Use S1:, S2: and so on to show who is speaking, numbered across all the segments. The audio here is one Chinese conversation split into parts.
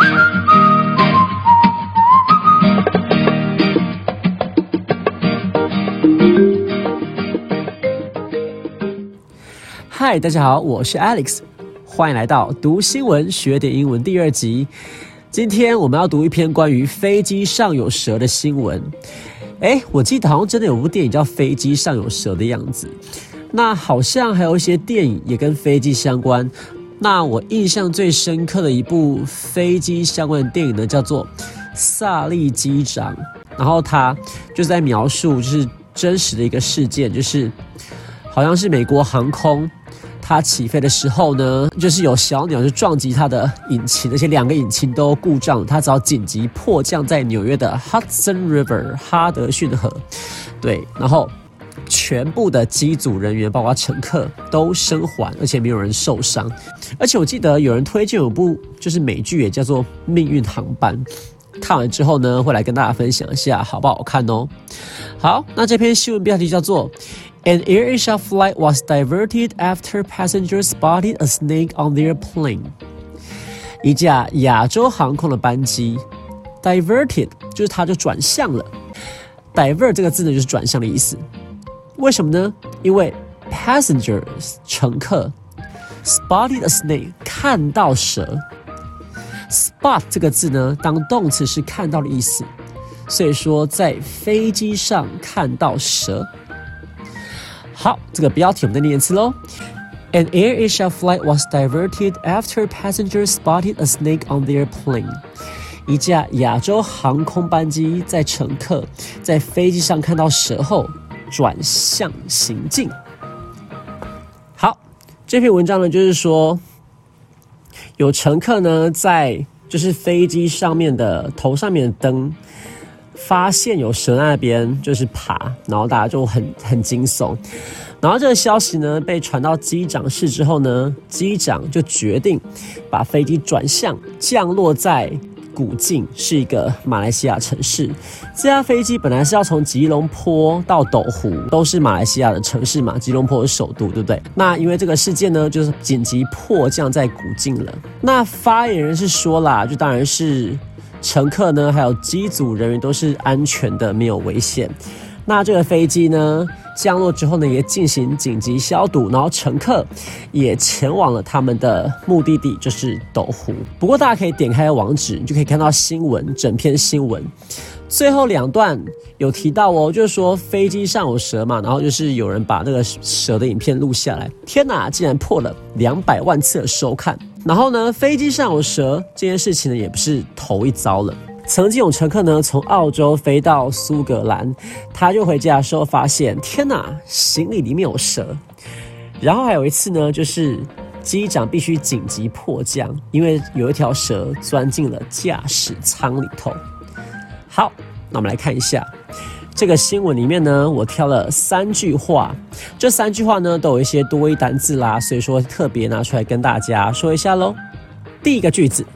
S1: 嗨，大家好，我是 Alex， 欢迎来到读新闻学点英文第2集。今天我们要读一篇关于飞机上有蛇的新闻。我记得好像真的有部电影叫《飞机上有蛇》的样子。那好像还有一些电影也跟飞机相关。那我印象最深刻的一部飞机相关的电影呢，叫做《萨利机长》。然后他就在描述就是真实的一个事件，就是好像是美国航空。它起飞的时候呢，就是有小鸟就撞击它的引擎，而且2个引擎都故障，它只好紧急迫降在纽约的 Hudson River 哈德逊河。对，然后全部的机组人员，包括乘客都生还，而且没有人受伤。而且我记得有人推荐有部就是美剧，也叫做《命运航班》。看完之后呢，会来跟大家分享一下好不好看哦。好，那这篇新闻标题叫做 An AirAsia flight was diverted after passengers spotted a snake on their plane. 一架亚洲航空的班机 diverted 就是它就转向了。divert 这个字呢就是转向的意思。为什么呢？因为 passengers 乘客 spotted a snake 看到蛇。spot 这个字呢当动词是看到的意思，所以说在飞机上看到蛇。好，这个标题我们再念一次咯。An AirAsia flight was diverted after passengers spotted a snake on their plane. 一架亚洲航空班机在乘客在飞机上看到蛇后转向行进。好，这篇文章呢就是说，有乘客呢在就是飞机上面的头上面的灯发现有蛇在那边就是爬，然后大家就很惊悚。然后这个消息呢被传到机长室之后呢，机长就决定把飞机转向降落在古晋，是一个马来西亚城市。这架飞机本来是要从吉隆坡到斗湖，都是马来西亚的城市嘛，吉隆坡是首都，对不对？那因为这个事件呢，就是紧急迫降在古晋了。那发言人是说啦，就当然是乘客呢，还有机组人员都是安全的，没有危险。那这个飞机呢降落之后呢，也进行紧急消毒，然后乘客也前往了他们的目的地，就是斗湖。不过大家可以点开网址，你就可以看到新闻，整篇新闻。最后2段有提到哦，就是说飞机上有蛇嘛，然后就是有人把那个蛇的影片录下来。天哪，竟然破了200万次的收看。然后呢，飞机上有蛇这件事情呢，也不是头一遭了。曾经有乘客呢从澳洲飞到苏格兰，他就回家的时候发现，天哪，行李里面有蛇。然后还有一次呢，就是机长必须紧急迫降，因为有一条蛇钻进了驾驶舱里头。好，那我们来看一下这个新闻里面呢，我挑了3句话，这3句话呢都有一些多义单字啦，所以说特别拿出来跟大家说一下咯。第一个句子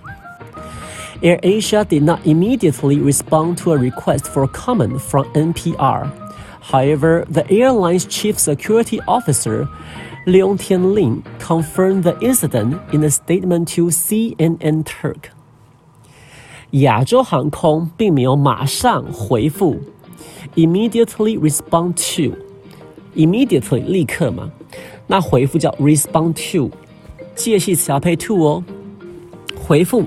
S1: ，AirAsia did not immediately respond to a request for comment from NPR. However, the airline's chief security officer, Leong Tian Lin, confirmed the incident in a statement to CNN Turk. 亚洲航空并没有马上回复 immediately respond to immediately 立刻嘛，那回复叫 respond to， 介系词要配 to 哦。回复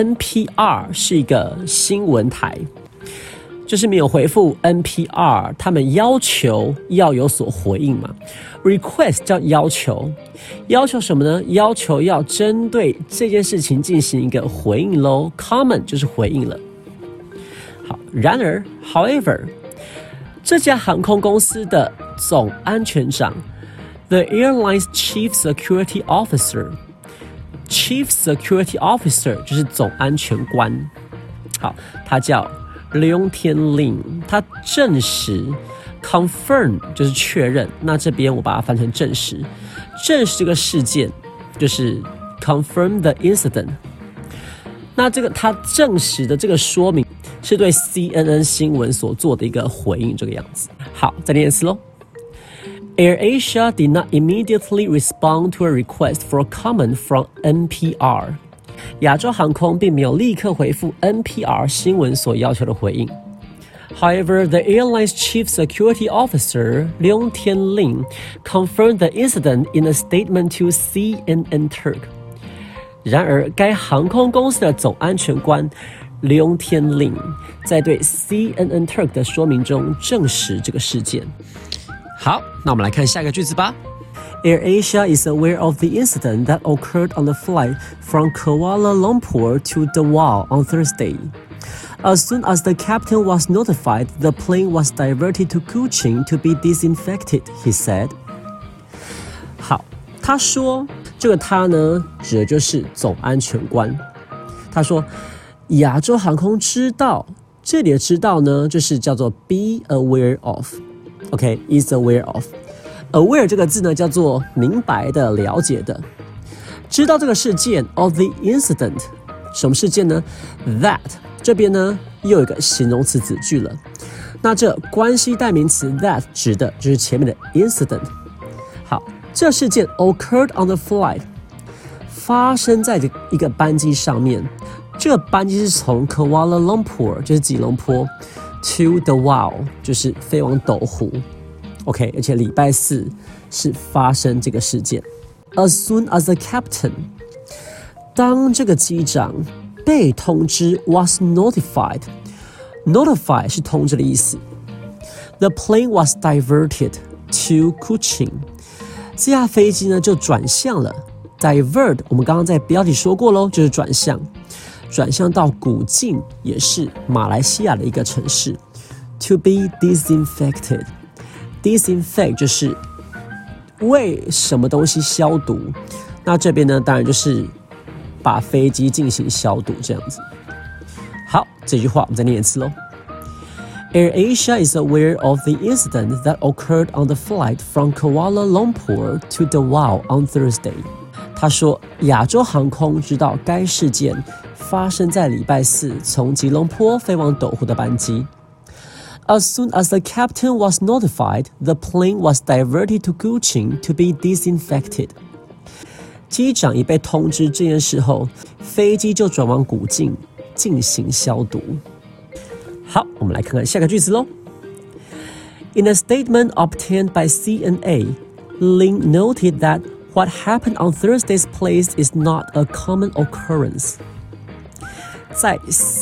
S1: NPR 是一个新闻台，就是没有回复 NPR， 他们要求要有所回应嘛。Request 叫要求，要求什么呢？要求要针对这件事情进行一个回应咯。Comment 就是回应了。好，然而 ，however， 这家航空公司的总安全长 ，the airline's chief security officer。Chief Security Officer 就是总安全官，好，他叫Leong Tian Lin， 他证实 confirm 就是确认，那这边我把它翻成证实，证实这个事件就是 confirm the incident。那这个他证实的这个说明是对 CNN 新闻所做的一个回应，这个样子。好，再念一次咯。AirAsia did not immediately respond to a request for comment from NPR. 亚洲航空并没有立刻回复 NPR 新闻所要求的回应。However, the airline's chief security officer, Leung Tian Lin, confirmed the incident in a statement to CNN Turk. 然而，该航空公司的总安全官 Leung Tian Lin 在对 CNN Turk 的说明中证实这个事件。好，那我们来看下一个句子吧。AirAsia is aware of the incident that occurred on the flight from Kuala Lumpur to Dawao on Thursday. As soon as the captain was notified, the plane was diverted to Kuching to be disinfected, he said. 好，他说这个他呢，指的就是总安全官。他说亚洲航空知道，这里的知道呢，就是叫做 be aware of。OK, is aware of。Aware 这个字呢，叫做明白的、了解的。知道这个事件 of the incident， 什么事件呢 ？That 这边呢又有一个形容词子句了。那这关系代名词 that 指的就是前面的 incident。好，这事件 occurred on the flight， 发生在一个班机上面。这个班机是从 Kuala Lumpur 就是吉隆坡 to Dawao 就是飞往斗湖。OK， 而且礼拜四是发生这个事件。As soon as the captain， 当这个机长被通知 was notified 是通知的意思。The plane was diverted to Kuching， 这架飞机呢就转向了。Divert 我们刚刚在标题说过咯，就是转向到古晋，也是马来西亚的一个城市。To be disinfected。Disinfect 就是为什么东西消毒，那这边呢，当然就是把飞机进行消毒这样子。好，这句话我们再念一次咯。AirAsia is aware of the incident that occurred on the flight from Kuala Lumpur to Dawao on Thursday. 他说，亚洲航空知道该事件发生在礼拜四从吉隆坡飞往斗湖的班机。As soon as the captain was notified, the plane was diverted to Kuching to be disinfected. 机长一被通知这件事后，飞机就转往古晋进行消毒。好，我们来看看下个句子咯。In a statement obtained by CNA, Lin noted that what happened on Thursday's plane is not a common occurrence. 在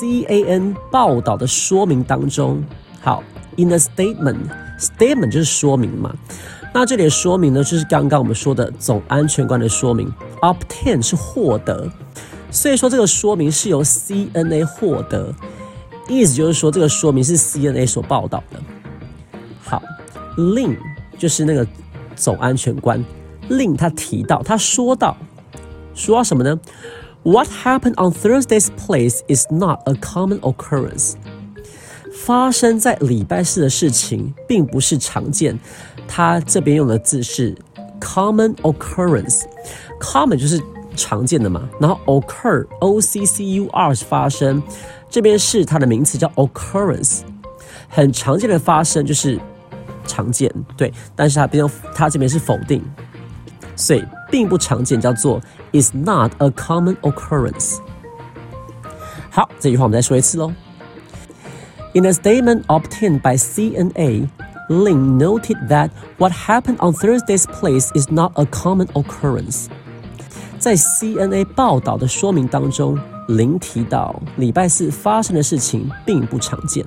S1: CAN 报道的说明当中，好 ，in a statement 就是说明嘛。那这里的说明呢，就是刚刚我们说的总安全官的说明。Obtain 是获得，所以说这个说明是由 CNA 获得，意思就是说这个说明是 CNA 所报道的。好 ，Lin 就是那个总安全官 ，Lin 他提到，他说到什么呢 ？What happened on Thursday's place is not a common occurrence. 发生在礼拜四的事情并不是常见，他这边用的字是 common occurrence。common 就是常见的嘛，然后 occur O-C-C-U-R 是发生，这边是它的名词叫 occurrence， 很常见的发生就是常见，对，但是它这边是否定，所以并不常见叫做 is not a common occurrence。好，这句话我们再说一次咯。In a statement obtained by CNA, Lin noted that what happened on Thursday's place is not a common occurrence. 在 CNA 报道的说明当中，林提到礼拜四发生的事情并不常见。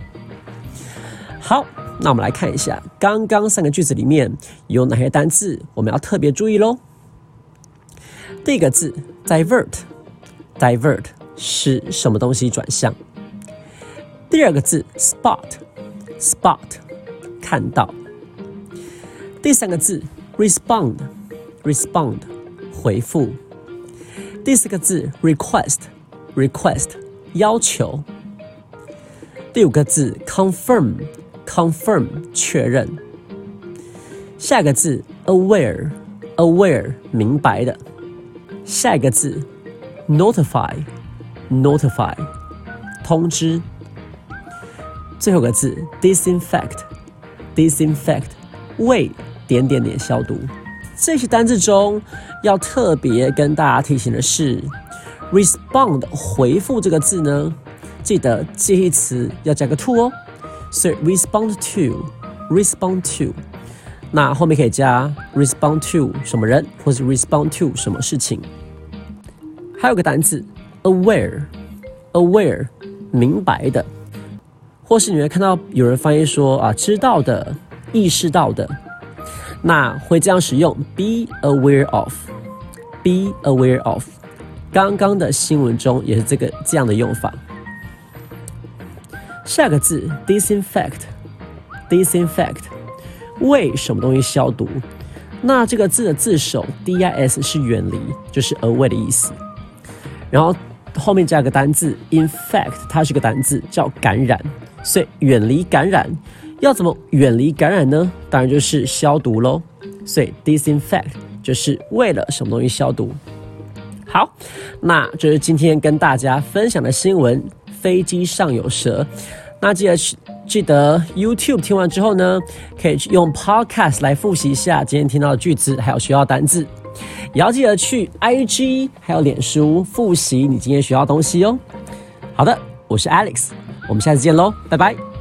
S1: 好，那我们来看一下刚刚3个句子里面有哪些单字我们要特别注意咯。第一个字 divert 是什么东西转向。第二个字 spot 看到。第三个字 respond 回复。第四个字 request 要求。第五个字 confirm 确认。下一个字 aware 明白的。下一个字 notify 通知。最后一个字 disinfect 为消毒。这些单字中要特别跟大家提醒的是， respond 回复这个字呢，记得介系词要加个 to 哦，所以 respond to， 那后面可以加 respond to 什么人，或是 respond to 什么事情。还有个单字 aware， 明白的，或是你会看到有人翻译说知道的、意识到的，那会这样使用 be aware of。刚刚的新闻中也是这样的用法。下个字 disinfect， 为什么东西消毒？那这个字的字首 dis 是远离，就是 away 的意思。然后后面加个单字 infect， 它是个单字叫感染，所以远离感染。要怎么远离感染呢？当然就是消毒咯。所以 disinfect 就是为了什么东西消毒。好，那这是今天跟大家分享的新闻，飞机上有蛇。那记得 YouTube 听完之后呢，可以用 Podcast 来复习一下今天听到的句子，还有学到单字。也要记得去 IG 还有脸书复习你今天学到的东西哦。好的，我是 Alex， 我们下次见咯，拜拜。